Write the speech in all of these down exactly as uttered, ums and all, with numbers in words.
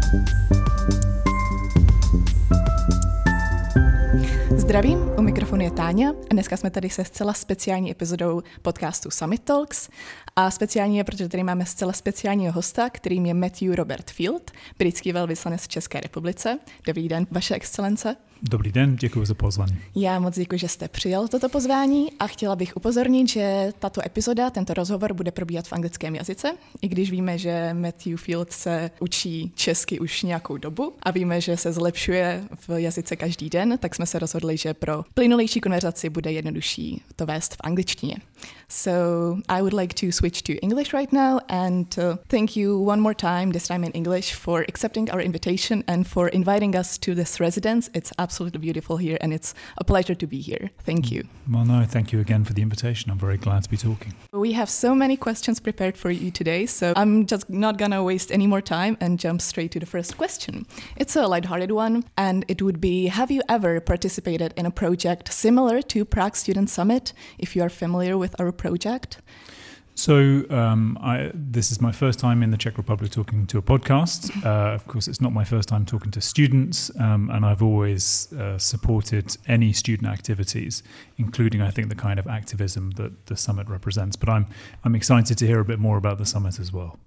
Zdravím, u mikrofonu je Táňa a dneska jsme tady se zcela speciální epizodou podcastu Summit Talks. A speciální je, protože tady máme zcela speciálního hosta, kterým je Matthew Robert Field, britský velvyslanec v České republice. Dobrý den, vaše excelence. Dobrý den, děkuji za pozvání. Já moc děkuji, že jste přijal toto pozvání a chtěla bych upozornit, že tato epizoda, tento rozhovor bude probíhat v anglickém jazyce, i když víme, že Matthew Field se učí česky už nějakou dobu a víme, že se zlepšuje v jazyce každý den, tak jsme se rozhodli, že pro plynulejší konverzaci bude jednodušší to vést v angličtině. So I would like to switch to English right now and uh, thank you one more time, this time in English, for accepting our invitation and for inviting us to this residence. It's absolutely beautiful here and it's a pleasure to be here. Thank you. Well, no, thank you again for the invitation. I'm very glad to be talking. We have so many questions prepared for you today, so I'm just not gonna waste any more time and jump straight to the first question. It's a lighthearted one and it would be, have you ever participated in a project similar to Prague Student Summit, if you are familiar with our project? So um, I, this is my first time in the Czech Republic talking to a podcast. Uh, of course, it's not my first time talking to students, um, and I've always uh, supported any student activities, including, I think, the kind of activism that the summit represents. But I'm I'm excited to hear a bit more about the summit as well.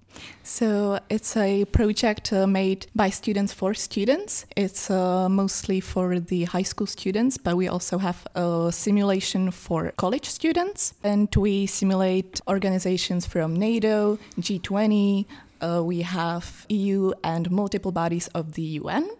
So it's a project uh, made by students for students. It's uh, mostly for the high school students, but we also have a simulation for college students. And we simulate organizations from NATO, G twenty, uh, we have E U and multiple bodies of the U N.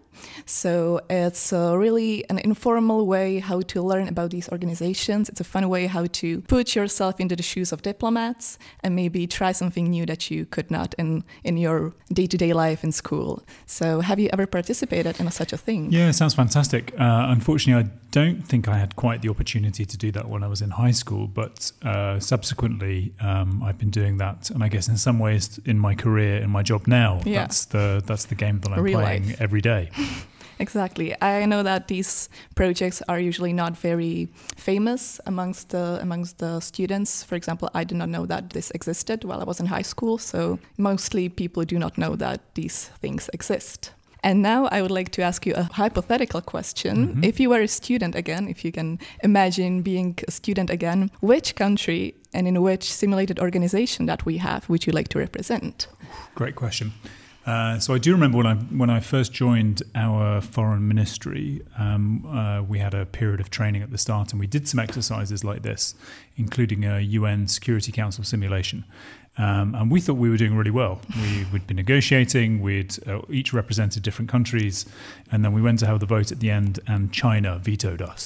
So it's uh, really an informal way how to learn about these organizations. It's a fun way how to put yourself into the shoes of diplomats and maybe try something new that you could not in, in your day-to-day life in school. So have you ever participated in a, such a thing? Yeah, it sounds fantastic. Uh, unfortunately, I don't think I had quite the opportunity to do that when I was in high school, but uh, subsequently um, I've been doing that. And I guess in some ways in my career, in my job now, yeah. that's the that's the game that I'm Real playing life. every day. Exactly. I know that these projects are usually not very famous amongst the amongst the students. For example, I did not know that this existed while I was in high school, so mostly people do not know that these things exist. And now I would like to ask you a hypothetical question. Mm-hmm. If you were a student again, if you can imagine being a student again, which country and in which simulated organization that we have would you like to represent? Great question. Uh, so I do remember when I when I first joined our foreign ministry, um, uh, we had a period of training at the start, and we did some exercises like this, including a U N Security Council simulation. Um, and we thought we were doing really well. We, we'd been negotiating, we'd uh, each represented different countries, and then we went to have the vote at the end, and China vetoed us.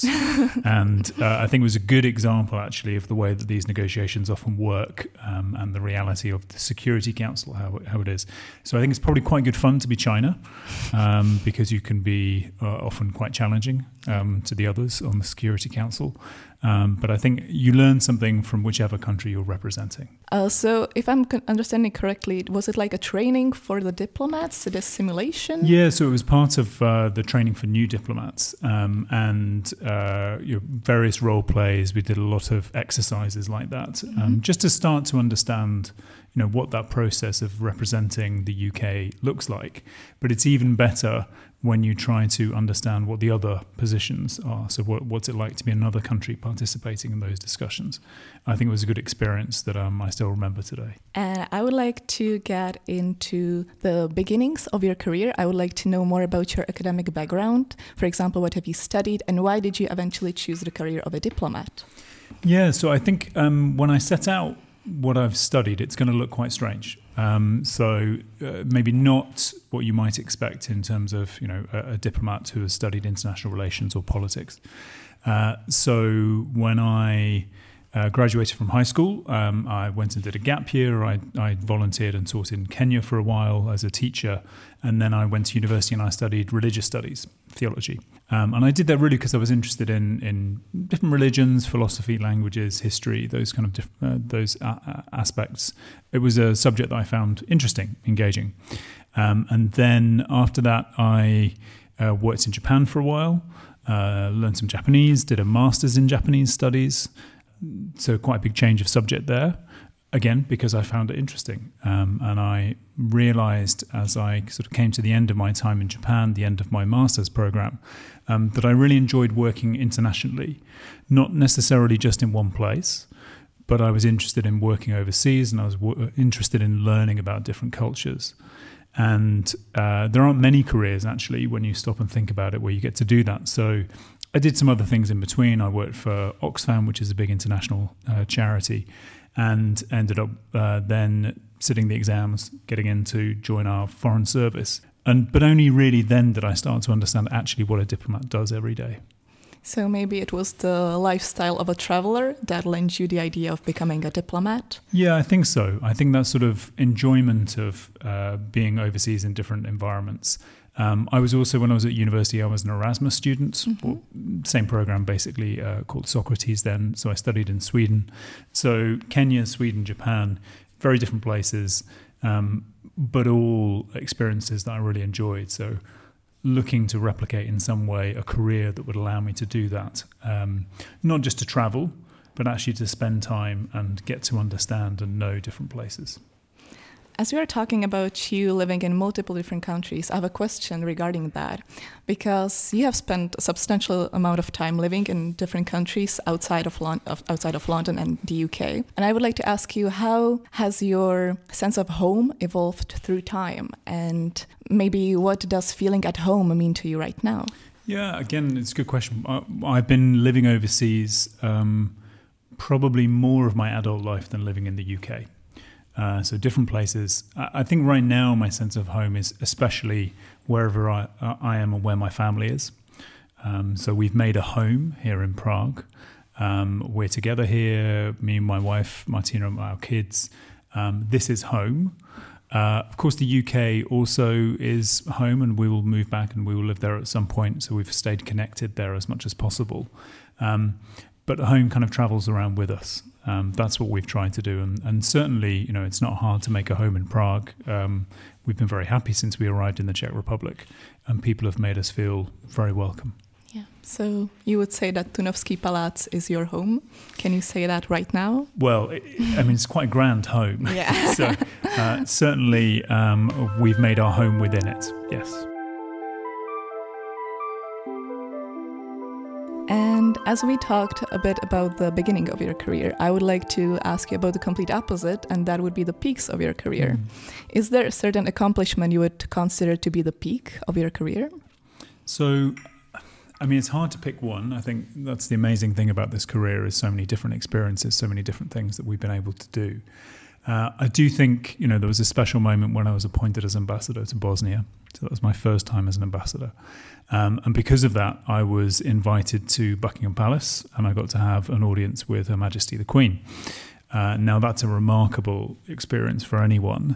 and uh, I think it was a good example, actually, of the way that these negotiations often work um, and the reality of the Security Council, how, how it is. So I think it's probably quite good fun to be China um, because you can be uh, often quite challenging um, to the others on the Security Council. Um, but I think you learn something from whichever country you're representing. Uh, so if I'm understanding correctly, was it like a training for the diplomats, this simulation? Yeah, so it was part of uh, the training for new diplomats um, and uh, you know, various role plays. We did a lot of exercises like that, mm-hmm. um, just to start to understand you know, what that process of representing the U K looks like. But it's even better when you try to understand what the other positions are. So what, what's it like to be another country participating in those discussions? I think it was a good experience that um, I still remember today. And I would like to get into the beginnings of your career. I would like to know more about your academic background. For example, what have you studied and why did you eventually choose the career of a diplomat? Yeah, so I think um, when I set out what I've studied, it's going to look quite strange. Um, so uh, maybe not what you might expect in terms of, you know, a, a diplomat who has studied international relations or politics. Uh, so when I uh, graduated from high school, um, I went and did a gap year. I, I volunteered and taught in Kenya for a while as a teacher. And then I went to university and I studied religious studies, theology. Um, and I did that really because I was interested in, in different religions, philosophy, languages, history, those kind of diff- uh, those a- aspects. It was a subject that I found interesting, engaging. Um, and then after that, I uh, worked in Japan for a while, uh, learned some Japanese, did a master's in Japanese studies. So quite a big change of subject there. again, because I found it interesting. Um, and I realized as I sort of came to the end of my time in Japan, the end of my master's program, um, that I really enjoyed working internationally, not necessarily just in one place, but I was interested in working overseas, and I was w- interested in learning about different cultures. And uh, there aren't many careers, actually, when you stop and think about it, where you get to do that. So I did some other things in between. I worked for Oxfam, which is a big international uh, charity, and ended up uh, then sitting the exams, getting in to join our foreign service. And but only really then did I start to understand actually what a diplomat does every day. So maybe it was the lifestyle of a traveler that lent you the idea of becoming a diplomat? Yeah, I think so. I think that sort of enjoyment of uh, being overseas in different environments. Um, I was also, when I was at university, I was an Erasmus student, mm-hmm. or same program basically, uh, called Socrates then. So I studied in Sweden. So Kenya, Sweden, Japan, very different places, um, but all experiences that I really enjoyed. So looking to replicate in some way a career that would allow me to do that, um, not just to travel, but actually to spend time and get to understand and know different places. As we are talking about you living in multiple different countries, I have a question regarding that, because you have spent a substantial amount of time living in different countries outside of, Lon- of outside of London and the U K. And I would like to ask you, how has your sense of home evolved through time? And maybe what does feeling at home mean to you right now? Yeah, again, it's a good question. I, I've been living overseas um, probably more of my adult life than living in the U K. Uh, so different places. I, I think right now my sense of home is especially wherever I, I am and where my family is. Um, so we've made a home here in Prague. Um, we're together here, me and my wife, Martina, and our kids. Um, this is home. Uh, of course, the U K also is home, and we will move back and we will live there at some point. So we've stayed connected there as much as possible. Um, but home kind of travels around with us. Um, that's what we've tried to do. And, and certainly, you know, it's not hard to make a home in Prague. Um, we've been very happy since we arrived in the Czech Republic, and people have made us feel very welcome. Yeah. So you would say that Tunovský Palác is your home. Can you say that right now? Well, it, I mean, it's quite a grand home. Yeah. So uh, certainly um, we've made our home within it. Yes. And as we talked a bit about the beginning of your career, I would like to ask you about the complete opposite, and that would be the peaks of your career. Mm. Is there a certain accomplishment you would consider to be the peak of your career? So, I mean, it's hard to pick one. I think that's the amazing thing about this career is so many different experiences, so many different things that we've been able to do. Uh, I do think, you know, there was a special moment when I was appointed as ambassador to Bosnia. So that was my first time as an ambassador. Um, and because of that, I was invited to Buckingham Palace, and I got to have an audience with Her Majesty the Queen. Uh, now, that's a remarkable experience for anyone.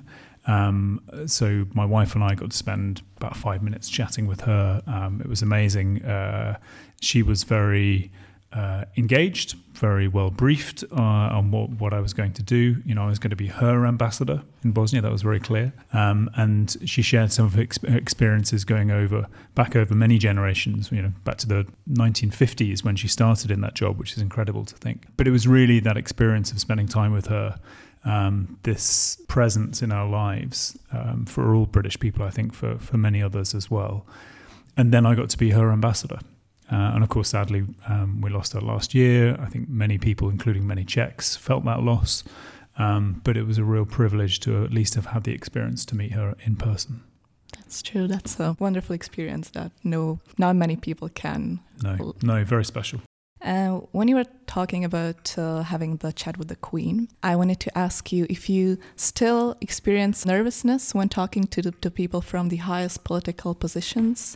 Um, so my wife and I got to spend about five minutes chatting with her. Um, it was amazing. Uh, she was very uh, engaged, very well briefed uh, on what, what I was going to do. You know, I was going to be her ambassador in Bosnia. That was very clear. Um, and she shared some of her, ex- her experiences going over, back over many generations, you know, back to the nineteen fifties when she started in that job, which is incredible to think. But it was really that experience of spending time with her, um, this presence in our lives um, for all British people, I think for, for many others as well. And then I got to be her ambassador. Uh, and of course, sadly, um, we lost her last year. I think many people, including many Czechs, felt that loss. Um, but it was a real privilege to at least have had the experience to meet her in person. That's true. That's a wonderful experience that no, not many people can. No, no, very special. Uh, when you were talking about uh, having the chat with the Queen, I wanted to ask you if you still experience nervousness when talking to the, to people from the highest political positions.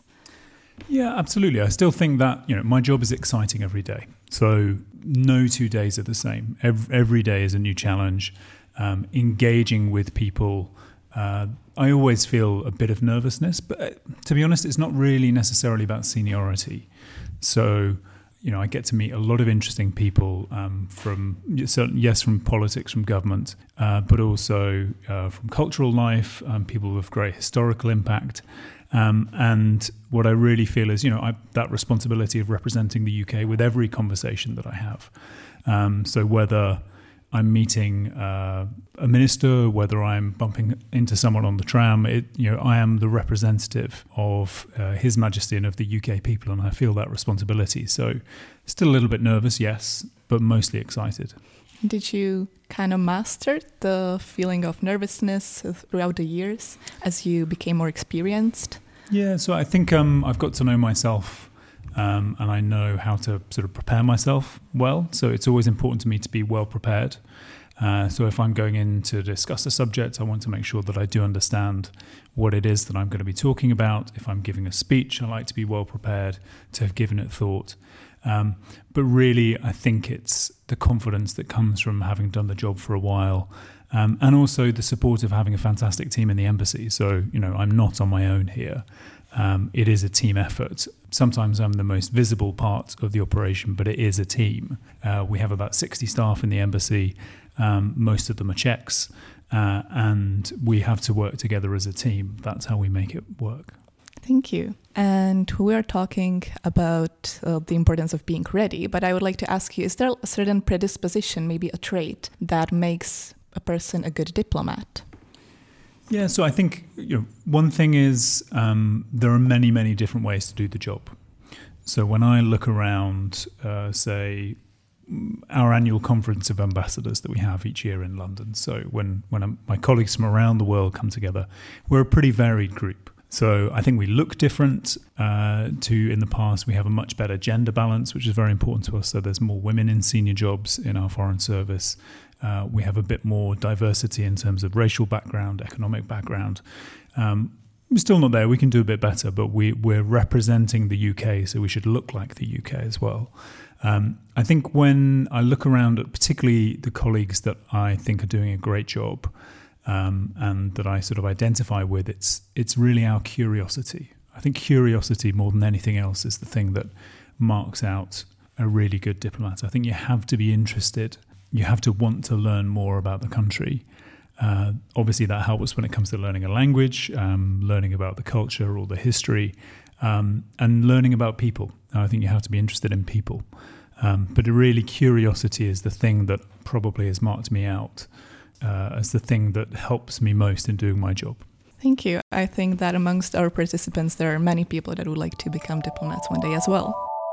Yeah, absolutely. I still think that, you know, my job is exciting every day. So no two days are the same. Every, every day is a new challenge. Um, engaging with people, uh, I always feel a bit of nervousness. But uh, to be honest, it's not really necessarily about seniority. So, you know, I get to meet a lot of interesting people um, from, yes, from politics, from government, uh, but also uh, from cultural life, um, people with great historical impact. Um, and what I really feel is, you know, I, that responsibility of representing the U K with every conversation that I have. Um, so whether I'm meeting uh, a minister, whether I'm bumping into someone on the tram, it, you know, I am the representative of uh, His Majesty and of the U K people, and I feel that responsibility. So still a little bit nervous, yes, but mostly excited. Did you kind of master the feeling of nervousness throughout the years as you became more experienced? Yeah, so I think um, I've got to know myself um, and I know how to sort of prepare myself well. So it's always important to me to be well prepared. Uh, so if I'm going in to discuss a subject, I want to make sure that I do understand what it is that I'm going to be talking about. If I'm giving a speech, I like to be well prepared, to have given it thought. Um, but really, I think it's the confidence that comes from having done the job for a while, um, and also the support of having a fantastic team in the embassy. So, you know, I'm not on my own here. Um, it is a team effort. Sometimes I'm the most visible part of the operation, but it is a team. Uh, we have about sixty staff in the embassy. Um, most of them are Czechs, uh, and we have to work together as a team. That's how we make it work. Thank you. And we are talking about uh, the importance of being ready, but I would like to ask you, is there a certain predisposition, maybe a trait, that makes a person a good diplomat? Yeah, so I think, you know, one thing is um, there are many, many different ways to do the job. So when I look around, uh, say, our annual conference of ambassadors that we have each year in London, so when, when I'm, my colleagues from around the world come together, we're a pretty varied group. So I think we look different uh, to in the past. We have a much better gender balance, which is very important to us. So there's more women in senior jobs in our foreign service. Uh, we have a bit more diversity in terms of racial background, economic background. Um, we're still not there. We can do a bit better, but we, we're representing the U K, so we should look like the U K as well. Um, I think when I look around at particularly the colleagues that I think are doing a great job, Um, and that I sort of identify with, it's it's really our curiosity. I think curiosity more than anything else is the thing that marks out a really good diplomat. I think you have to be interested. You have to want to learn more about the country. Uh, obviously, that helps when it comes to learning a language, um, learning about the culture or the history, um, and learning about people. I think you have to be interested in people. Um, but really, curiosity is the thing that probably has marked me out Uh, as the thing that helps me most in doing my job. Thank you. I think that amongst our participants, there are many people that would like to become diplomats one day as well.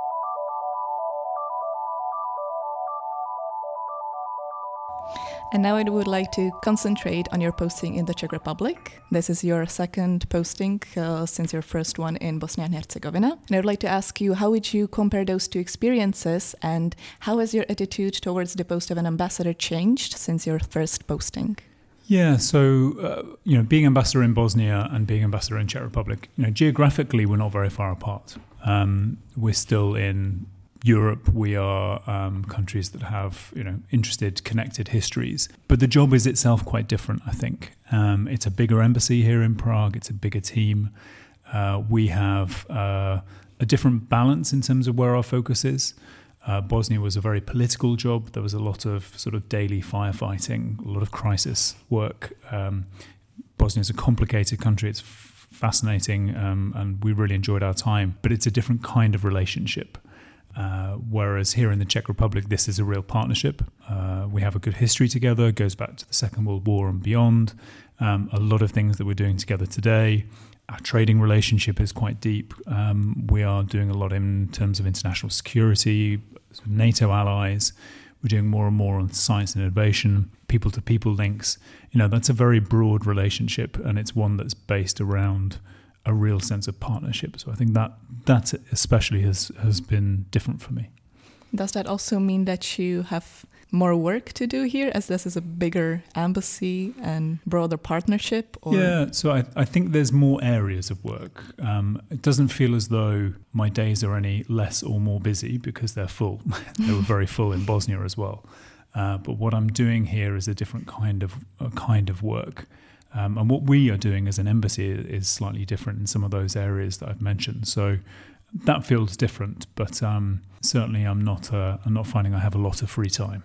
And now I would like to concentrate on your posting in the Czech Republic. This is your second posting uh, since your first one in Bosnia and Herzegovina. And I would like to ask you, how would you compare those two experiences, and how has your attitude towards the post of an ambassador changed since your first posting? Yeah, so, uh, you know, being ambassador in Bosnia and being ambassador in Czech Republic, you know, geographically, we're not very far apart. Um, we're still in Europe. We are um, countries that have, you know, interested, connected histories. But the job is itself quite different, I think. Um, it's a bigger embassy here in Prague. It's a bigger team. Uh, we have uh, a different balance in terms of where our focus is. Uh, Bosnia was a very political job. There was a lot of sort of daily firefighting, a lot of crisis work. Um, Bosnia is a complicated country. It's f- fascinating, um, and we really enjoyed our time. But it's a different kind of relationship. Uh, whereas here in the Czech Republic, this is a real partnership. Uh, we have a good history together. It goes back to the Second World War and beyond. Um, a lot of things that we're doing together today. Our trading relationship is quite deep. Um, we are doing a lot in terms of international security, NATO allies. We're doing more and more on science and innovation, people-to-people links. You know, that's a very broad relationship, and it's one that's based around a real sense of partnership. So I think that that especially has, has been different for me. Does that also mean that you have more work to do here, as this is a bigger embassy and broader partnership? Or? Yeah, so I, I think there's more areas of work. Um, it doesn't feel as though my days are any less or more busy, because they're full. They were very full in Bosnia as well. Uh, but what I'm doing here is a different kind of a kind of work. Um, and what we are doing as an embassy is slightly different in some of those areas that I've mentioned. So that feels different, but um, certainly I'm not uh, I'm not finding I have a lot of free time.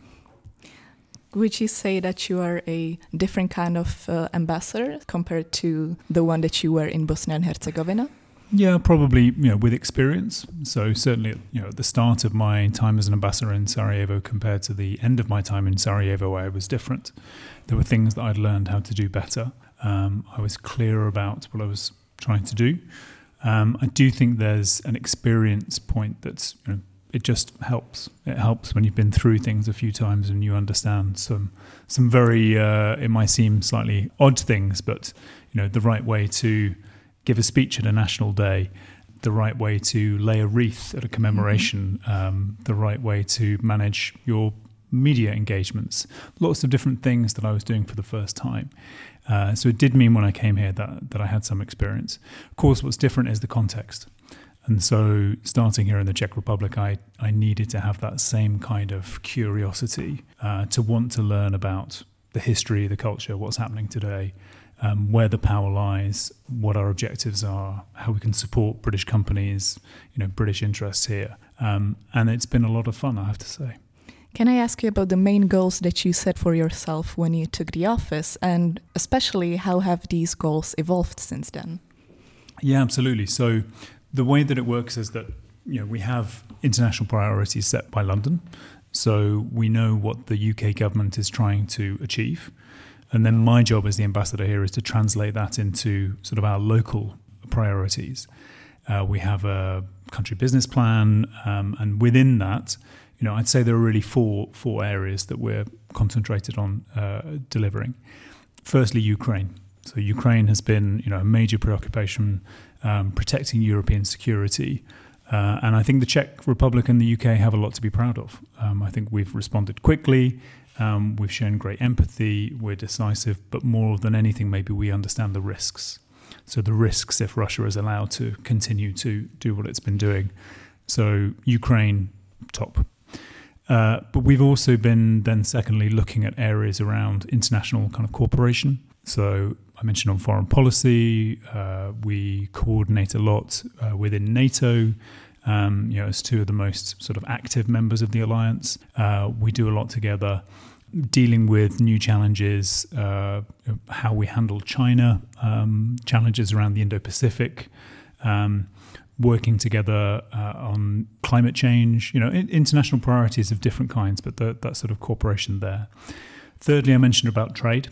Would you say that you are a different kind of uh, ambassador compared to the one that you were in Bosnia and Herzegovina? Yeah, probably, you know, with experience. So certainly, you know, at the start of my time as an ambassador in Sarajevo compared to the end of my time in Sarajevo, I was different. There were things that I'd learned how to do better. Um, I was clearer about what I was trying to do. Um, I do think there's an experience point that's, you know, it just helps. It helps when you've been through things a few times and you understand some some very, uh, it might seem slightly odd things, but, you know, the right way to give a speech at a national day, the right way to lay a wreath at a commemoration, mm-hmm. um, the right way to manage your media engagements, lots of different things that I was doing for the first time. Uh, so it did mean when I came here that, that I had some experience. Of course, what's different is the context. And so starting here in the Czech Republic, I, I needed to have that same kind of curiosity uh, to want to learn about the history, the culture, what's happening today, um, where the power lies, what our objectives are, how we can support British companies, you know, British interests here. Um, and it's been a lot of fun, I have to say. Can I ask you about the main goals that you set for yourself when you took the office, and especially how have these goals evolved since then? Yeah, absolutely. So the way that it works is that, you know, we have international priorities set by London. So we know what the U K government is trying to achieve. And then my job as the ambassador here is to translate that into sort of our local priorities. Uh, we have a country business plan, um, and within that, you know, I'd say there are really four four areas that we're concentrated on uh, delivering. Firstly, Ukraine. So Ukraine has been, you know, a major preoccupation, um, protecting European security. Uh, and I think the Czech Republic and the U K have a lot to be proud of. Um, I think we've responded quickly. Um, we've shown great empathy. We're decisive. But more than anything, maybe we understand the risks. So the risks if Russia is allowed to continue to do what it's been doing. So Ukraine, top. Uh, but we've also been then secondly looking at areas around international kind of cooperation. So I mentioned on foreign policy, uh, we coordinate a lot uh, within NATO, um, you know, as two of the most sort of active members of the alliance. Uh, we do a lot together dealing with new challenges, uh, how we handle China, um, challenges around the Indo-Pacific, um, working together uh, on climate change, you know, international priorities of different kinds, but the, that sort of cooperation there. Thirdly, I mentioned about trade.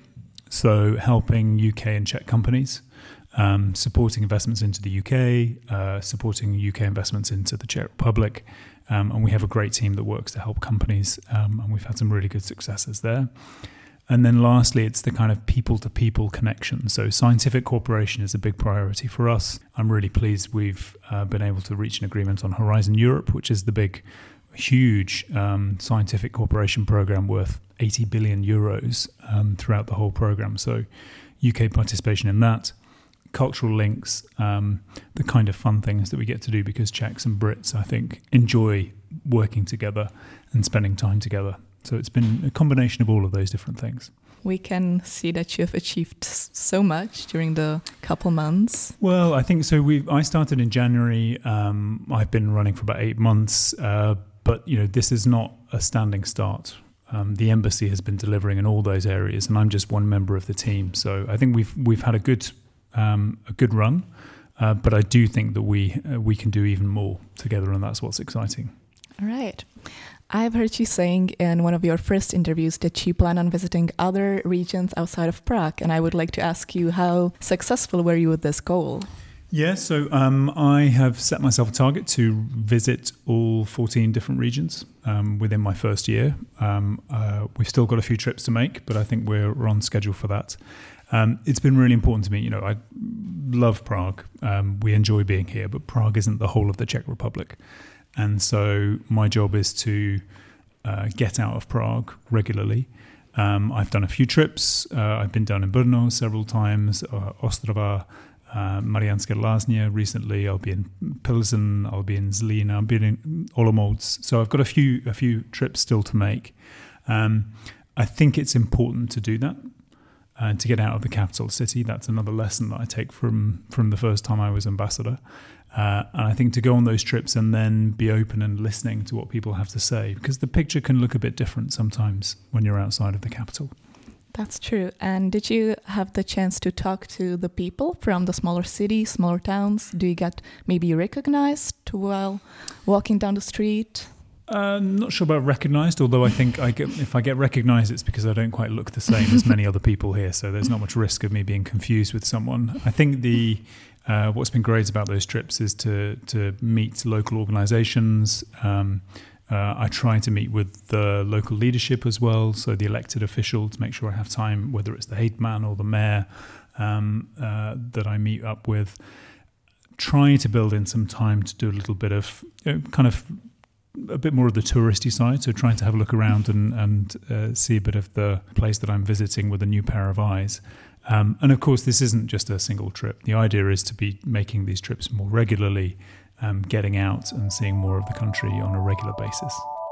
So helping U K and Czech companies, um, supporting investments into the U K, uh, supporting U K investments into the Czech Republic. Um, and we have a great team that works to help companies, um, and we've had some really good successes there. And then lastly, it's the kind of people-to-people connection. So scientific cooperation is a big priority for us. I'm really pleased we've uh, been able to reach an agreement on Horizon Europe, which is the big, huge um, scientific cooperation program worth eighty billion euros um, throughout the whole program. So U K participation in that, cultural links, um, the kind of fun things that we get to do because Czechs and Brits, I think, enjoy working together and spending time together. So it's been a combination of all of those different things. We can see that you have achieved so much during the couple months. Well, I think so. We I started in January. Um, I've been running for about eight months. Uh, but, you know, this is not a standing start. Um, the embassy has been delivering in all those areas, and I'm just one member of the team. So I think we've we've had a good um, a good run. Uh, but I do think that we uh, we can do even more together, and that's what's exciting. All right. I've heard you saying in one of your first interviews that you plan on visiting other regions outside of Prague, and I would like to ask you, how successful were you with this goal? Yeah, so um, I have set myself a target to visit all fourteen different regions um, within my first year. Um, uh, we've still got a few trips to make, but I think we're, we're on schedule for that. Um, it's been really important to me. You know, I love Prague. Um, we enjoy being here, but Prague isn't the whole of the Czech Republic. And so my job is to uh, get out of Prague regularly. Um, I've done a few trips. Uh, I've been down in Brno several times, uh, Ostrava, uh, Mariánské Lázně recently. I'll be in Pilsen. I'll be in Zlín. I'll be in Olomouc. So I've got a few a few trips still to make. Um, I think it's important to do that and uh, to get out of the capital city. That's another lesson that I take from from the first time I was ambassador. Uh, and I think to go on those trips and then be open and listening to what people have to say, because the picture can look a bit different sometimes when you're outside of the capital. That's true. And did you have the chance to talk to the people from the smaller cities, smaller towns? Do you get maybe recognized while walking down the street? Uh, not sure about recognised, although I think I get, if I get recognised, it's because I don't quite look the same as many other people here, so there's not much risk of me being confused with someone. I think the uh, what's been great about those trips is to to meet local organisations. Um, uh, I try to meet with the local leadership as well, so the elected official, to make sure I have time, whether it's the Hetman or the mayor um, uh, that I meet up with. Try to build in some time to do a little bit of you know, kind of a bit more of the touristy side, so trying to have a look around and, and uh, see a bit of the place that I'm visiting with a new pair of eyes. Um, and of course, this isn't just a single trip. The idea is to be making these trips more regularly, um, getting out and seeing more of the country on a regular basis.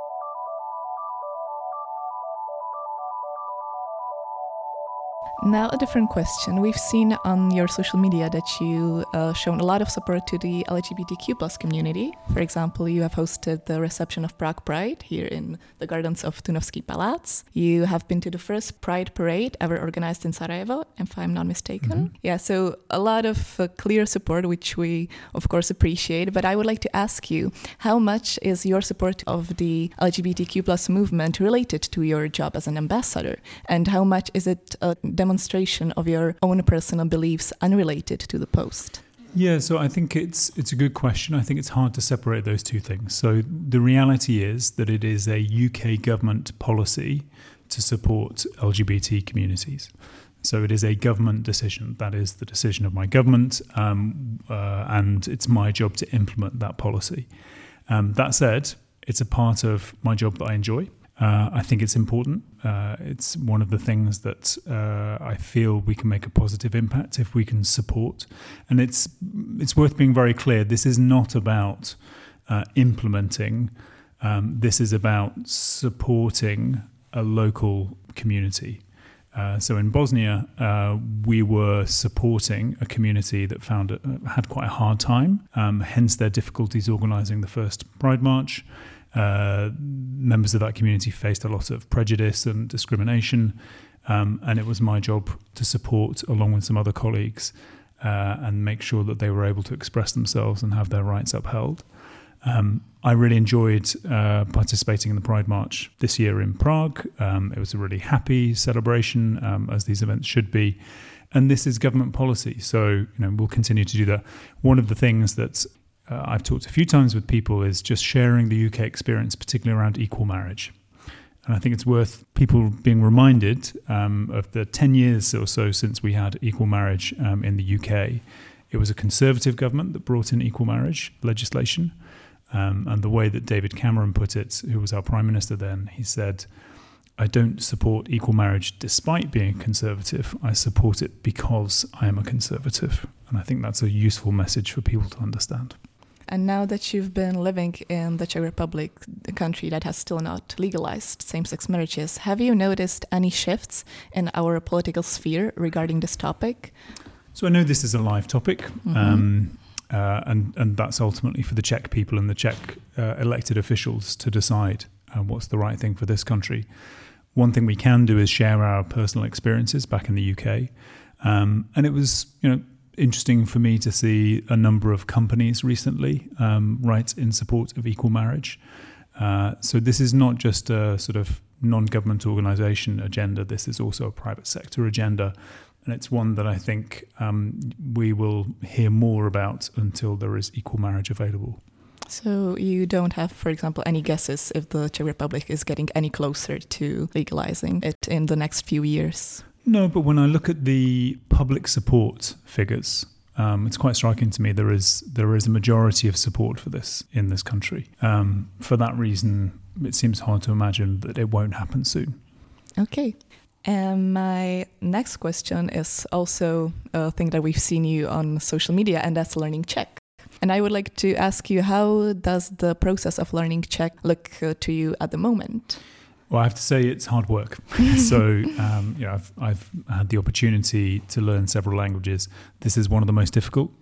Now a different question. We've seen on your social media that you uh, shown a lot of support to the L G B T Q plus community. For example, you have hosted the reception of Prague Pride here in the gardens of Tunovský Palác. You have been to the first Pride parade ever organized in Sarajevo, if I'm not mistaken. Mm-hmm. Yeah, so a lot of uh, clear support, which we of course appreciate. But I would like to ask you, how much is your support of the L G B T Q plus movement related to your job as an ambassador? And how much is it a demonstration of your own personal beliefs unrelated to the post? Yeah, so I think it's it's a good question. I think it's hard to separate those two things. So the reality is that it is a U K government policy to support L G B T communities. So it is a government decision. That is the decision of my government, um, uh, and it's my job to implement that policy. Um, that said, it's a part of my job that I enjoy. Uh, I think it's important. Uh, it's one of the things that uh, I feel we can make a positive impact if we can support. And it's it's worth being very clear. This is not about uh, implementing. Um, this is about supporting a local community. Uh, so in Bosnia, uh, we were supporting a community that found it, uh, had quite a hard time, um, hence their difficulties organising the first Pride March. Uh, members of that community faced a lot of prejudice and discrimination, um, and it was my job to support, along with some other colleagues, uh, and make sure that they were able to express themselves and have their rights upheld. Um, I really enjoyed uh, participating in the Pride March this year in Prague. Um, it was a really happy celebration, um, as these events should be. And this is government policy, so you know we'll continue to do that. One of the things that Uh, I've talked a few times with people is just sharing the U K experience, particularly around equal marriage. And I think it's worth people being reminded um, of the ten years or so since we had equal marriage um, in the U K. It was a Conservative government that brought in equal marriage legislation. Um, and the way that David Cameron put it, who was our Prime Minister then, he said, I don't support equal marriage despite being a Conservative. I support it because I am a Conservative. And I think that's a useful message for people to understand. And now that you've been living in the Czech Republic, the country that has still not legalized same-sex marriages, have you noticed any shifts in our political sphere regarding this topic? So I know this is a live topic, mm-hmm. um, uh, and, and that's ultimately for the Czech people and the Czech uh, elected officials to decide uh, what's the right thing for this country. One thing we can do is share our personal experiences back in the U K. Um, and it was, you know, interesting for me to see a number of companies recently um, write in support of equal marriage. Uh, so this is not just a sort of non-government organisation agenda. This is also a private sector agenda. And it's one that I think um, we will hear more about until there is equal marriage available. So you don't have, for example, any guesses if the Czech Republic is getting any closer to legalizing it in the next few years? No, but when I look at the public support figures, um, it's quite striking to me there is there is a majority of support for this in this country. Um, for that reason, it seems hard to imagine that it won't happen soon. Okay. And my next question is also a thing that we've seen you on social media, and that's learning Czech. And I would like to ask you, how does the process of learning Czech look uh, to you at the moment? Well, I have to say it's hard work. So, um, you know, I've, I've had the opportunity to learn several languages. This is one of the most difficult.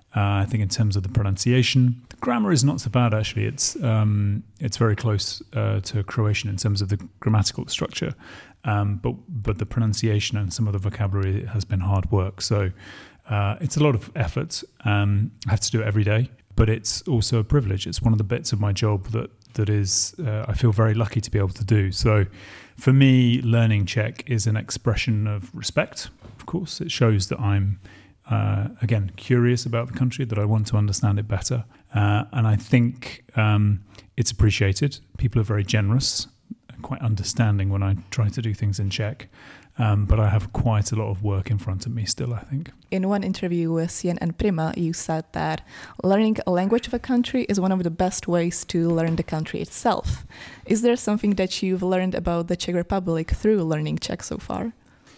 Uh, I think in terms of the pronunciation, the grammar is not so bad actually. It's um, it's very close uh, to Croatian in terms of the grammatical structure, um, but but the pronunciation and some of the vocabulary has been hard work. So uh, it's a lot of effort. Um, I have to do it every day, but it's also a privilege. It's one of the bits of my job that that is uh, I feel very lucky to be able to do. So for me, learning Czech is an expression of respect. Of course, it shows that I'm Uh, again, curious about the country, that I want to understand it better. Uh, and I think um, it's appreciated. People are very generous, quite understanding when I try to do things in Czech. Um, but I have quite a lot of work in front of me still, I think. In one interview with C N N Prima, you said that learning a language of a country is one of the best ways to learn the country itself. Is there something that you've learned about the Czech Republic through learning Czech so far?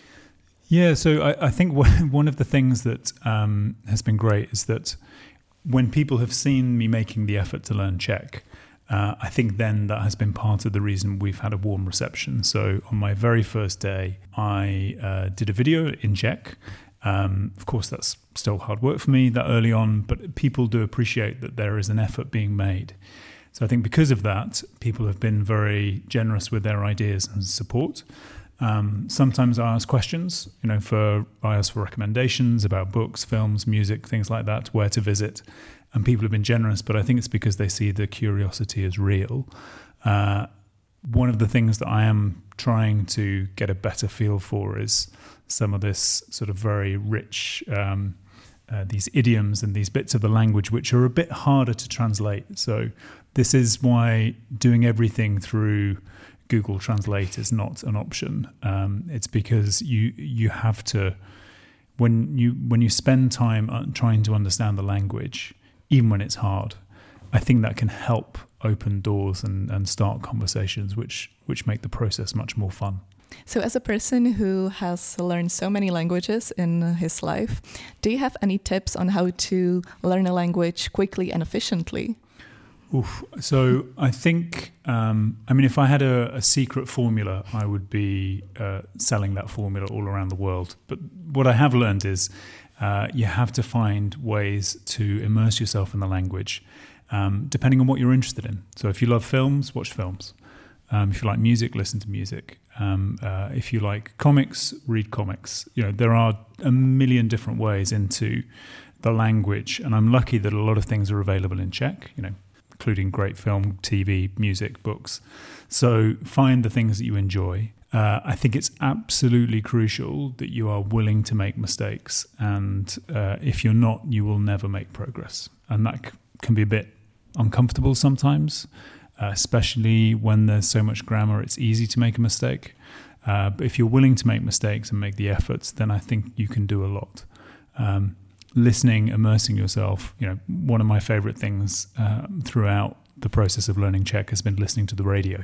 Yeah, so I, I think one of the things that um, has been great is that when people have seen me making the effort to learn Czech, uh, I think then that has been part of the reason we've had a warm reception. So on my very first day, I uh, did a video in Czech. Um, of course, that's still hard work for me that early on, but people do appreciate that there is an effort being made. So I think because of that, people have been very generous with their ideas and support. Um, sometimes I ask questions, you know, for I ask for recommendations about books, films, music, things like that, where to visit, and people have been generous. But I think it's because they see the curiosity as real. Uh, one of the things that I am trying to get a better feel for is some of this sort of very rich, um, uh, these idioms and these bits of the language which are a bit harder to translate. So this is why doing everything through Google Translate is not an option. Um, it's because you you have to when you when you spend time trying to understand the language, even when it's hard, I think that can help open doors and, and start conversations which which make the process much more fun. So as a person who has learned so many languages in his life, do you have any tips on how to learn a language quickly and efficiently? Oof. So I think, um, I mean, if I had a, a secret formula, I would be uh, selling that formula all around the world. But what I have learned is uh, you have to find ways to immerse yourself in the language, um, depending on what you're interested in. So if you love films, watch films. Um, if you like music, listen to music. Um, uh, if you like comics, read comics. You know, there are a million different ways into the language, and I'm lucky that a lot of things are available in Czech, you know, including great film, T V, music, books. So find the things that you enjoy. Uh, I think it's absolutely crucial that you are willing to make mistakes. And uh, if you're not, you will never make progress. And that c- can be a bit uncomfortable sometimes, uh, especially when there's so much grammar. It's easy to make a mistake. Uh, but if you're willing to make mistakes and make the efforts, then I think you can do a lot. Um, listening, immersing yourself, you know, one of my favorite things uh, throughout the process of learning Czech has been listening to the radio.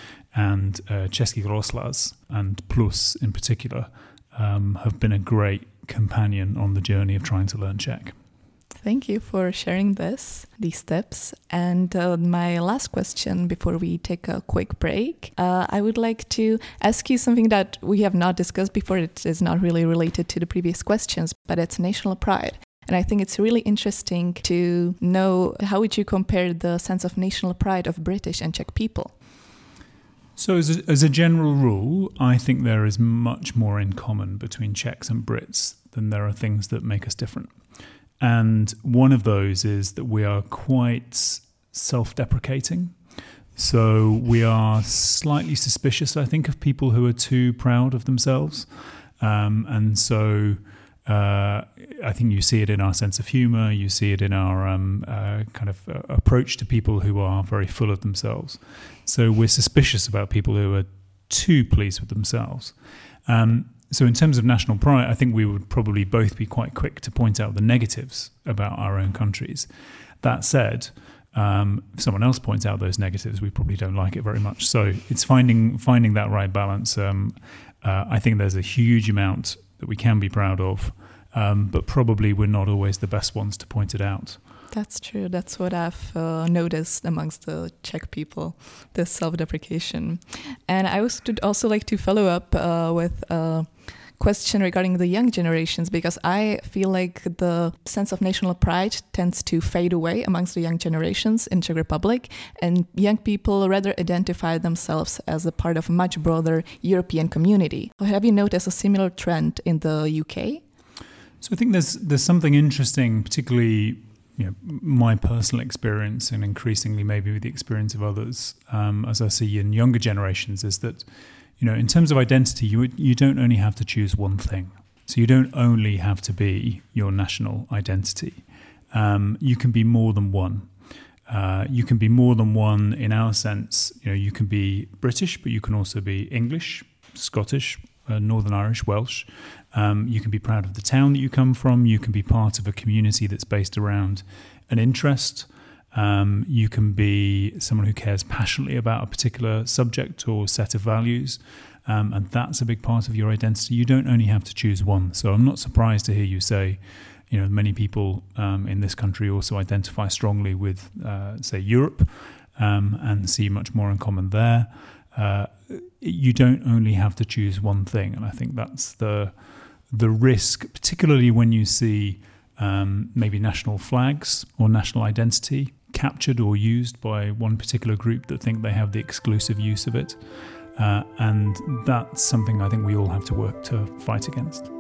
And uh, Český rozhlas and Plus in particular um, have been a great companion on the journey of trying to learn Czech. Thank you for sharing this, these tips. And uh, my last question before we take a quick break, uh, I would like to ask you something that we have not discussed before. It is not really related to the previous questions, but it's national pride. And I think it's really interesting to know how would you compare the sense of national pride of British and Czech people? So as a, as a general rule, I think there is much more in common between Czechs and Brits than there are things that make us different. And one of those is that we are quite self-deprecating. So we are slightly suspicious, I think, of people who are too proud of themselves. Um, and so uh, I think you see it in our sense of humour, you see it in our um, uh, kind of uh, approach to people who are very full of themselves. So we're suspicious about people who are too pleased with themselves. Um, So in terms of national pride, I think we would probably both be quite quick to point out the negatives about our own countries. That said, um, if someone else points out those negatives, we probably don't like it very much. So it's finding finding that right balance. Um, uh, I think there's a huge amount that we can be proud of, um, but probably we're not always the best ones to point it out. That's true. That's what I've uh, noticed amongst the Czech people, this self-deprecation. And I would also like to follow up uh, with a question regarding the young generations, because I feel like the sense of national pride tends to fade away amongst the young generations in Czech Republic, and young people rather identify themselves as a part of a much broader European community. Have you noticed a similar trend in the U K? So I think there's there's something interesting, particularly you know, my personal experience and increasingly maybe with the experience of others, um, as I see in younger generations, is that, you know, in terms of identity, you you don't only have to choose one thing. So you don't only have to be your national identity. Um, you can be more than one. Uh, you can be more than one in our sense. You know, you can be British, but you can also be English, Scottish, uh, Northern Irish, Welsh. Um, you can be proud of the town that you come from. You can be part of a community that's based around an interest. Um, you can be someone who cares passionately about a particular subject or set of values. Um, and that's a big part of your identity. You don't only have to choose one. So I'm not surprised to hear you say, you know, many people um, in this country also identify strongly with, uh, say, Europe um, and see much more in common there. Uh, you don't only have to choose one thing. And I think that's the the risk, particularly when you see um, maybe national flags or national identity captured or used by one particular group that think they have the exclusive use of it. Uh, and that's something I think we all have to work to fight against.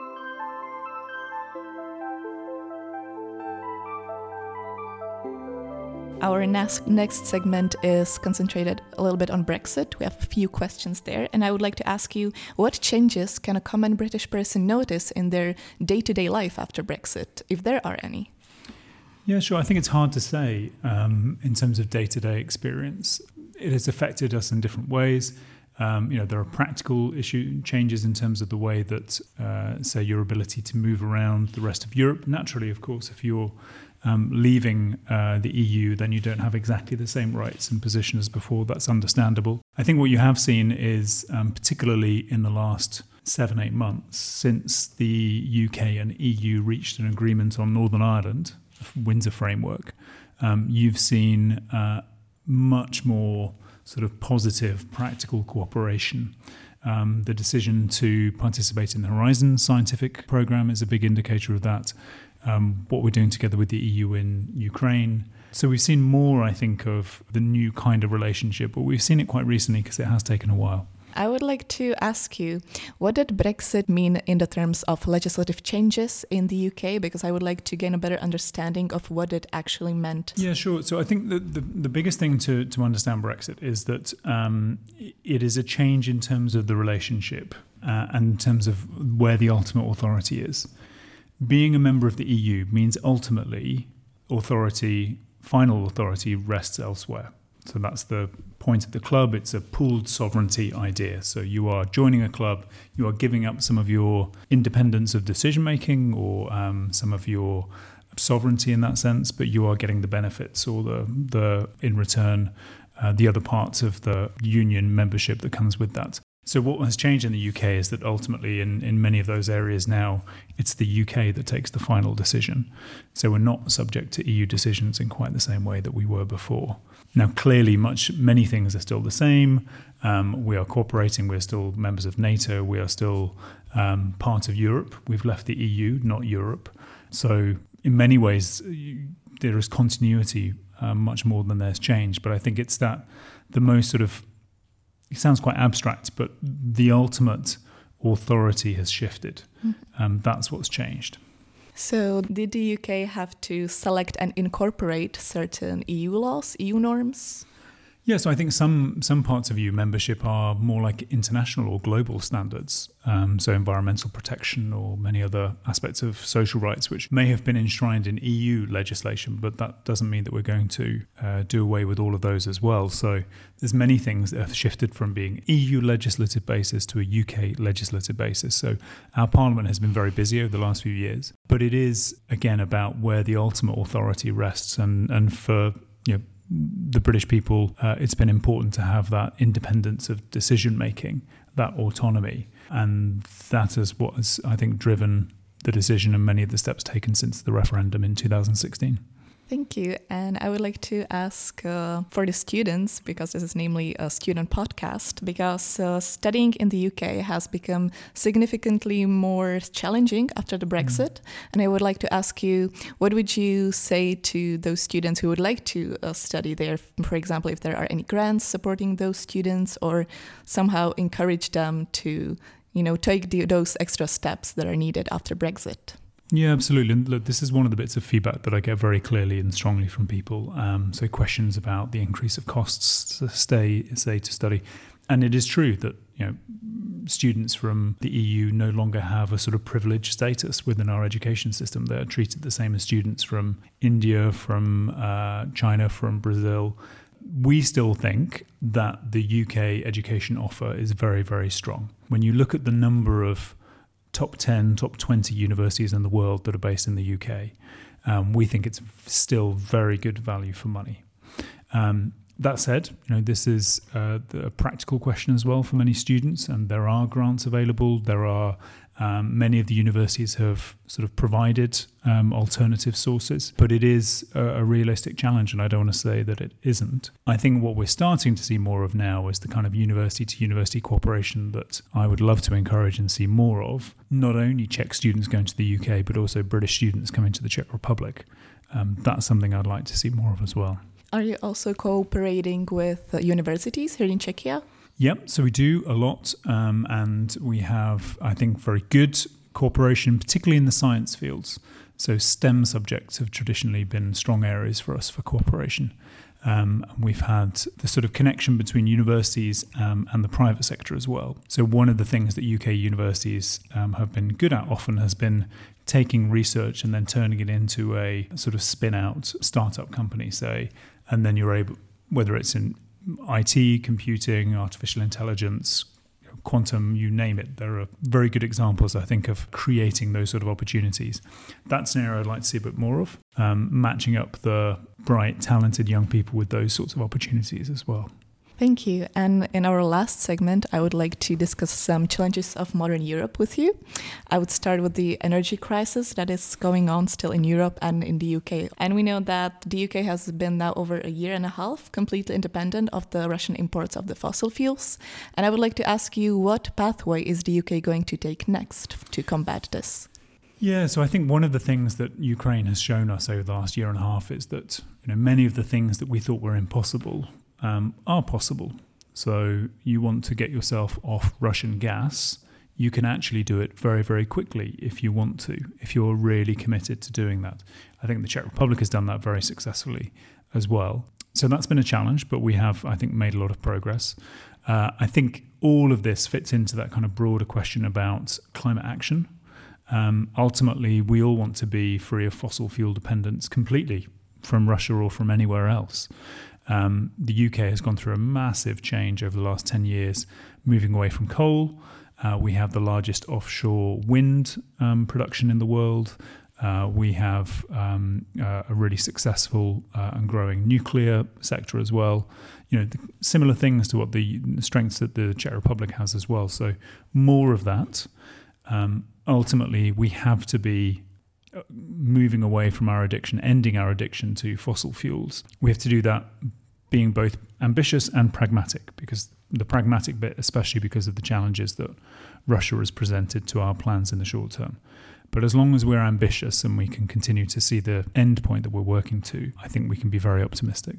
Our next, next segment is concentrated a little bit on Brexit. We have a few questions there, and I would like to ask you, what changes can a common British person notice in their day-to-day life after Brexit, if there are any? Yeah, sure. I think it's hard to say um, in terms of day-to-day experience. It has affected us in different ways. Um, you know, there are practical issue changes in terms of the way that, uh, say, your ability to move around the rest of Europe. Naturally, of course, if you're um, leaving uh, the E U, then you don't have exactly the same rights and position as before. That's understandable. I think what you have seen is, um, particularly in the last seven, eight months, since the U K and E U reached an agreement on Northern Ireland, Windsor Framework, um, you've seen uh, much more sort of positive, practical cooperation. Um, the decision to participate in the Horizon scientific program is a big indicator of that. Um, what we're doing together with the E U in Ukraine. So we've seen more, I think, of the new kind of relationship, but we've seen it quite recently because it has taken a while. I would like to ask you, what did Brexit mean in the terms of legislative changes in the U K? Because I would like to gain a better understanding of what it actually meant. Yeah, sure. So I think the, the, the biggest thing to, to understand Brexit is that um, it is a change in terms of the relationship uh, and in terms of where the ultimate authority is. Being a member of the E U means ultimately authority, final authority rests elsewhere. So that's the point of the club. It's a pooled sovereignty idea. So you are joining a club, you are giving up some of your independence of decision making or um, some of your sovereignty in that sense, but you are getting the benefits or the, the in return, uh, the other parts of the union membership that comes with that. So what has changed in the U K is that ultimately in, in many of those areas now, it's the U K that takes the final decision. So we're not subject to E U decisions in quite the same way that we were before. Now, clearly, much many things are still the same. Um, we are cooperating. We're still members of NATO. We are still um, part of Europe. We've left the E U, not Europe. So in many ways, there is continuity uh, much more than there's change. But I think it's that the most sort of, it sounds quite abstract, but the ultimate authority has shifted. Mm-hmm. Um, that's what's changed. So did the U K have to select and incorporate certain E U laws, E U norms? Yeah, so I think some some parts of E U membership are more like international or global standards, um, so environmental protection or many other aspects of social rights, which may have been enshrined in E U legislation, but that doesn't mean that we're going to uh, do away with all of those as well. So there's many things that have shifted from being E U legislative basis to a U K legislative basis. So our Parliament has been very busy over the last few years, but it is, again, about where the ultimate authority rests. And, and for, you know, the British people, uh, it's been important to have that independence of decision-making, that autonomy. And that is what has, I think, driven the decision and many of the steps taken since the referendum in two thousand sixteen. Thank you. And I would like to ask uh, for the students, because this is namely a student podcast, because uh, studying in the U K has become significantly more challenging after the Brexit. Mm. And I would like to ask you, what would you say to those students who would like to uh, study there? For example, if there are any grants supporting those students, or somehow encourage them to, you know, take the, those extra steps that are needed after Brexit? Yeah, absolutely. And look, this is one of the bits of feedback that I get very clearly and strongly from people. Um, so questions about the increase of costs to stay, say, to study. And it is true that, you know, students from the E U no longer have a sort of privileged status within our education system. They're treated the same as students from India, from uh, China, from Brazil. We still think that the U K education offer is very, very strong. When you look at the number of top ten, top twenty universities in the world that are based in the U K, um, we think it's still very good value for money. Um, that said, you know, this is uh, a practical question as well for many students, and there are grants available. There are um, many of the universities have sort of provided um, alternative sources, but it is a, a realistic challenge, and I don't want to say that it isn't. I think what we're starting to see more of now is the kind of university-to-university cooperation that I would love to encourage and see more of. Not only Czech students going to the U K, but also British students coming to the Czech Republic. Um, that's something I'd like to see more of as well. Are you also cooperating with uh, universities here in Czechia? Yep, so we do a lot, um, and we have, I think, very good cooperation, particularly in the science fields. So STEM subjects have traditionally been strong areas for us for cooperation. Um, we've had the sort of connection between universities um, and the private sector as well. So one of the things that U K universities um, have been good at often has been taking research and then turning it into a sort of spin-out startup company, say, and then you're able, whether it's in I T, computing, artificial intelligence, quantum, you name it. There are very good examples, I think, of creating those sort of opportunities. That's an area I'd like to see a bit more of, um, matching up the bright, talented young people with those sorts of opportunities as well. Thank you. And in our last segment, I would like to discuss some challenges of modern Europe with you. I would start with the energy crisis that is going on still in Europe and in the U K. And we know that the U K has been now over a year and a half completely independent of the Russian imports of the fossil fuels. And I would like to ask you, what pathway is the U K going to take next to combat this? Yeah, so I think one of the things that Ukraine has shown us over the last year and a half is that, you know, many of the things that we thought were impossible Um, are possible. So you want to get yourself off Russian gas, you can actually do it very, very quickly if you want to, if you're really committed to doing that. I think the Czech Republic has done that very successfully as well. So that's been a challenge, but we have, I think, made a lot of progress. Uh, I think all of this fits into that kind of broader question about climate action. Um, ultimately, we all want to be free of fossil fuel dependence completely from Russia or from anywhere else. Um, the U K has gone through a massive change over the last ten years, moving away from coal. Uh, we have the largest offshore wind um, production in the world. Uh, we have um, uh, a really successful uh, and growing nuclear sector as well. You know, the, similar things to what the, the strengths that the Czech Republic has as well. So more of that. Um, ultimately, we have to be moving away from our addiction, ending our addiction to fossil fuels. We have to do that being both ambitious and pragmatic, because the pragmatic bit, especially because of the challenges that Russia has presented to our plans in the short term. But as long as we're ambitious and we can continue to see the end point that we're working to, I think we can be very optimistic.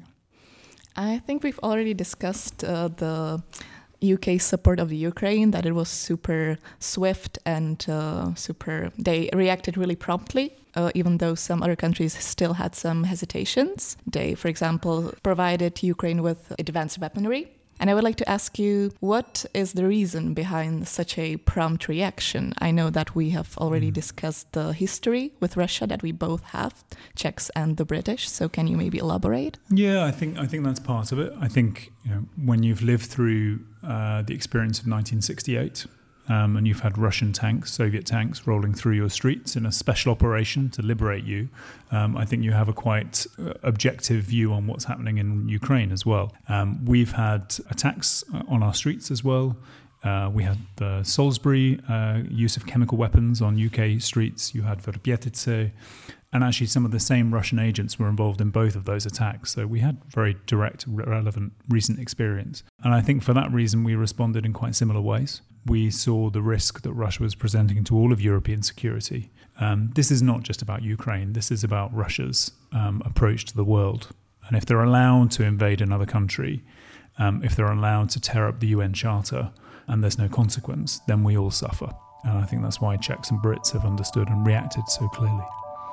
I think we've already discussed uh, the U K support of the Ukraine, that it was super swift and uh, super, they reacted really promptly, uh, even though some other countries still had some hesitations. They, for example, provided Ukraine with advanced weaponry. And I would like to ask you, what is the reason behind such a prompt reaction? I know that we have already mm. discussed the history with Russia that we both have, Czechs and the British. So can you maybe elaborate? Yeah, I think I think that's part of it. I think, you know, when you've lived through uh, the experience of nineteen sixty-eight, Um, and you've had Russian tanks, Soviet tanks, rolling through your streets in a special operation to liberate you, um, I think you have a quite uh, objective view on what's happening in Ukraine as well. Um, we've had attacks on our streets as well. Uh, we had the Salisbury uh, use of chemical weapons on U K streets. You had Verbětice. And actually, some of the same Russian agents were involved in both of those attacks. So we had very direct, relevant, recent experience. And I think for that reason, we responded in quite similar ways. We saw the risk that Russia was presenting to all of European security. Um, this is not just about Ukraine. This is about Russia's um, approach to the world. And if they're allowed to invade another country, um, if they're allowed to tear up the U N Charter, and there's no consequence, then we all suffer. And I think that's why Czechs and Brits have understood and reacted so clearly.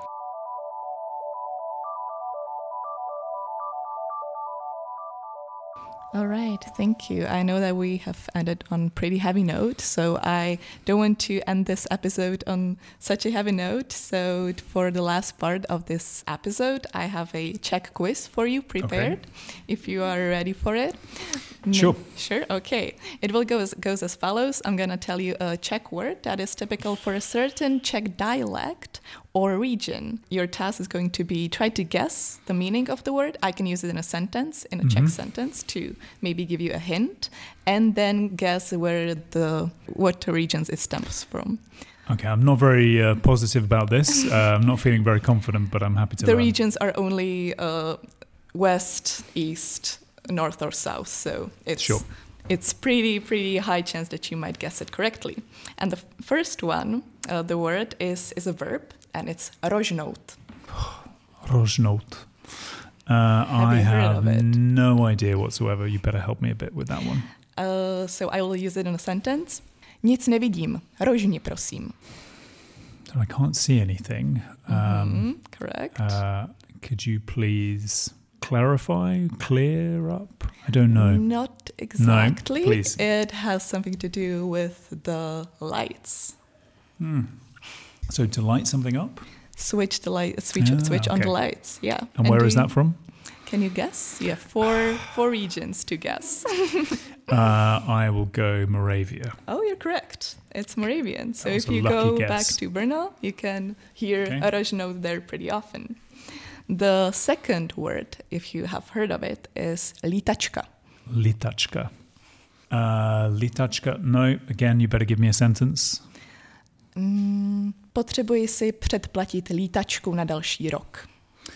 All right, thank you. I know that we have ended on a pretty heavy note, so I don't want to end this episode on such a heavy note. So for the last part of this episode, I have a Czech quiz for you prepared, okay. If you are ready for it. Sure. No, sure, okay. It will go as, goes as follows. I'm going to tell you a Czech word that is typical for a certain Czech dialect or region. Your task is going to be try to guess the meaning of the word. I can use it in a sentence, in a mm-hmm. Czech sentence, to maybe give you a hint, and then guess where the what regions it stems from. Okay, I'm not very uh, positive about this. Uh, I'm not feeling very confident, but I'm happy to The learn. regions are only uh, west, east, north, or south, so it's sure. it's pretty pretty high chance that you might guess it correctly. And the f- first one, uh, the word is is a verb. And it's rožnout. Rožnout. Uh, have I you heard have of it? no idea whatsoever. You better help me a bit with that one. Uh, so I will use it in a sentence. Nic nevidím. Rožni, prosím. So I can't see anything. Um, mm-hmm, correct. Uh, could you please clarify, clear up? I don't know. Not exactly. No, please. It has something to do with the lights. Hmm. So to light something up? Switch the light, switch, ah, switch okay. on the lights, yeah. And, and where is you, that from? Can you guess? You have four, four regions to guess. uh, I will go Moravia. Oh, you're correct. It's Moravian. So if you go guess. back to Brno, you can hear okay. rožnout there pretty often. The second word, if you have heard of it, is lítačka. Lítačka. Uh, lítačka. No, again, you better give me a sentence. Mm, potřebuji si předplatit lítačku na další rok.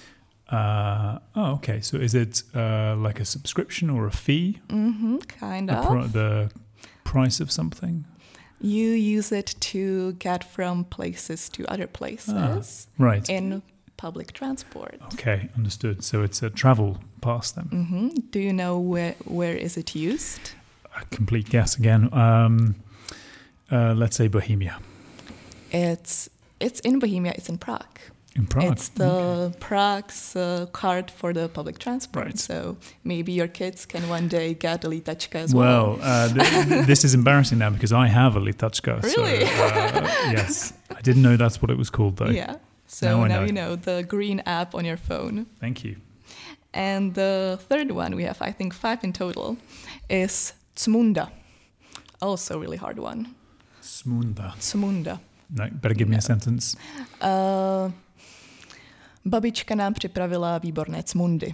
Uh, oh, okay. So is it uh, like a subscription or a fee? Mm-hmm, kind a of. Pr- the price of something? You use it to get from places to other places. Ah, right. In public transport. Okay, understood. So it's a travel pass then. Mm-hmm. Do you know where where is it used? A complete guess again. Um, uh, let's say Bohemia. It's it's in Bohemia. It's in Prague. In Prague. It's the okay. Prague's uh, card for the public transport. Right. So maybe your kids can one day get a lítačka as well. well. Well, uh, th- this is embarrassing now because I have a lítačka. Really? So, uh, yes. I didn't know that's what it was called though. Yeah. So now, now know. you know the green app on your phone. Thank you. And the third one, we have I think five in total, is Cmunda. Also a really hard one. Cmunda. Cmunda. No, better give me no. a sentence. Uh, babička nám připravila výborné cmundy.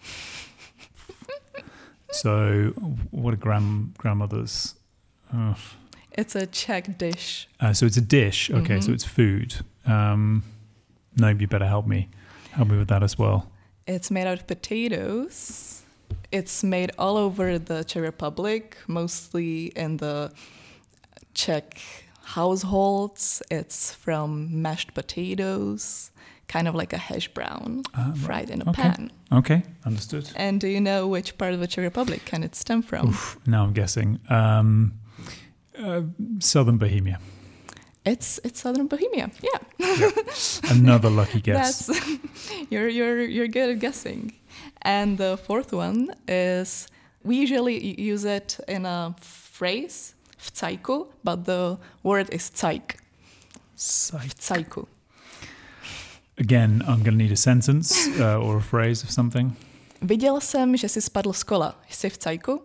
So, what are grand grandmothers? Oh. It's a Czech dish. Uh, so it's a dish. Okay, mm-hmm. So it's food. Um, no, you better help me. Help me with that as well. It's made out of potatoes. It's made all over the Czech Republic, mostly in the Czech households. It's from mashed potatoes, kind of like a hash brown, uh, fried in a okay. pan. Okay, understood. And do you know which part of the Czech Republic can it stem from? Oof, now I'm guessing. Um, uh, Southern Bohemia. It's it's Southern Bohemia. Yeah. Yep. Another lucky guess. That's you're you're you're good at guessing. And the fourth one is we usually use it in a phrase, vcajku, but the word is cajk. Vcajku. Again, I'm going to need a sentence uh, or a phrase of something. Viděl jsem, že jsi spadl z kola. Jsi v cajku?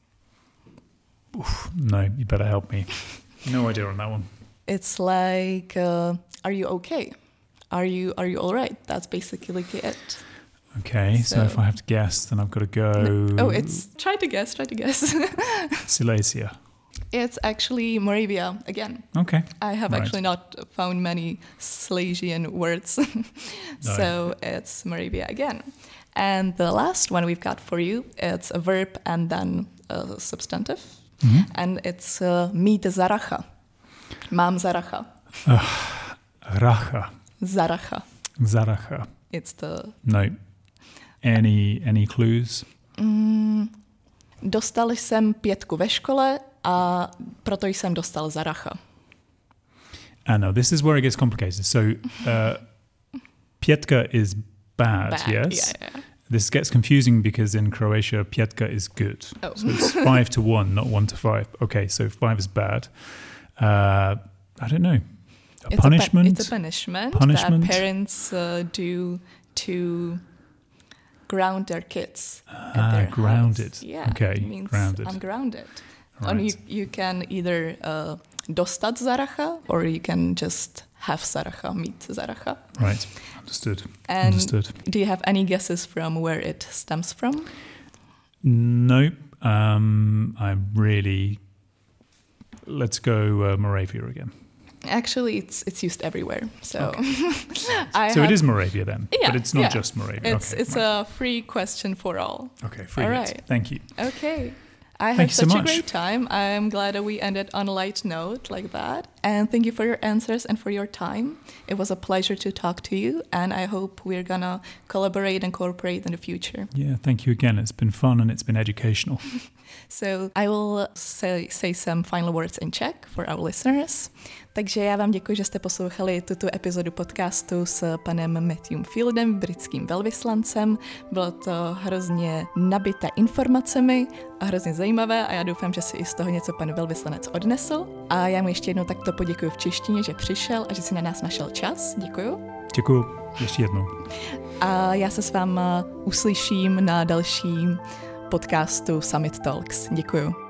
Oof, no, you better help me. No idea on that one. It's like, uh, are you okay? Are you are you all right? That's basically it. Okay, so, so if I have to guess, then I've got to go. No, oh, it's try to guess. Try to guess. Silesia. It's actually Moravia again. Okay. I have right. actually not found many Silesian words. So right. it's Moravia again. And the last one we've got for you, it's a verb and then a substantive. Mm-hmm. And it's uh, mít zaracha. Mám zaracha. Uh, racha. Zaracha. Zaracha. It's the... No. Any, any clues? Mm, dostal jsem pětku ve škole a proto jsem dostal zaracha. I know, this is where it gets complicated. So, uh, pětka is bad, bad yes? Yeah, yeah. This gets confusing because in Croatia, pětka is good. Oh. So it's five to one, not one to five. Okay, so five is bad. Uh, I don't know. A it's punishment? A pa- it's a punishment, punishment that parents uh, do to ground their kids. Ah, at their grounded. House. Yeah, okay, it means grounded. I'm grounded. Right. And you, you can either uh, dostat zaracha or you can just have zaracha, mít zaracha. Right, understood. And understood. Do you have any guesses from where it stems from? Nope. Um, I'm really... Let's go uh, Moravia again. Actually, it's it's used everywhere. So, okay. I so have, it is Moravia then, yeah, but it's not yeah. just Moravia. It's okay, it's right. a free question for all. Okay, free. All hit. right. Thank you. Okay. I Thank had you such so a much. great time. I'm glad that we ended on a light note like that. And thank you for your answers and for your time. It was a pleasure to talk to you, and I hope we're gonna collaborate and cooperate in the future. Yeah, thank you again. It's been fun and it's been educational. So I will say, say some final words in Czech for our listeners. Takže já vám děkuji, že jste poslouchali tuto epizodu podcastu s panem Matthewem Fieldem, britským velvyslancem. Bylo to hrozně nabité informacemi a hrozně zajímavé a já doufám, že si i z toho něco pan velvyslanec odnesl. A já mu ještě jednou takto poděkuji v češtině, že přišel a že si na nás našel čas. Děkuju. Děkuju ještě jednou. A já se s váma uslyším na dalším podcastu Summit Talks. Děkuju.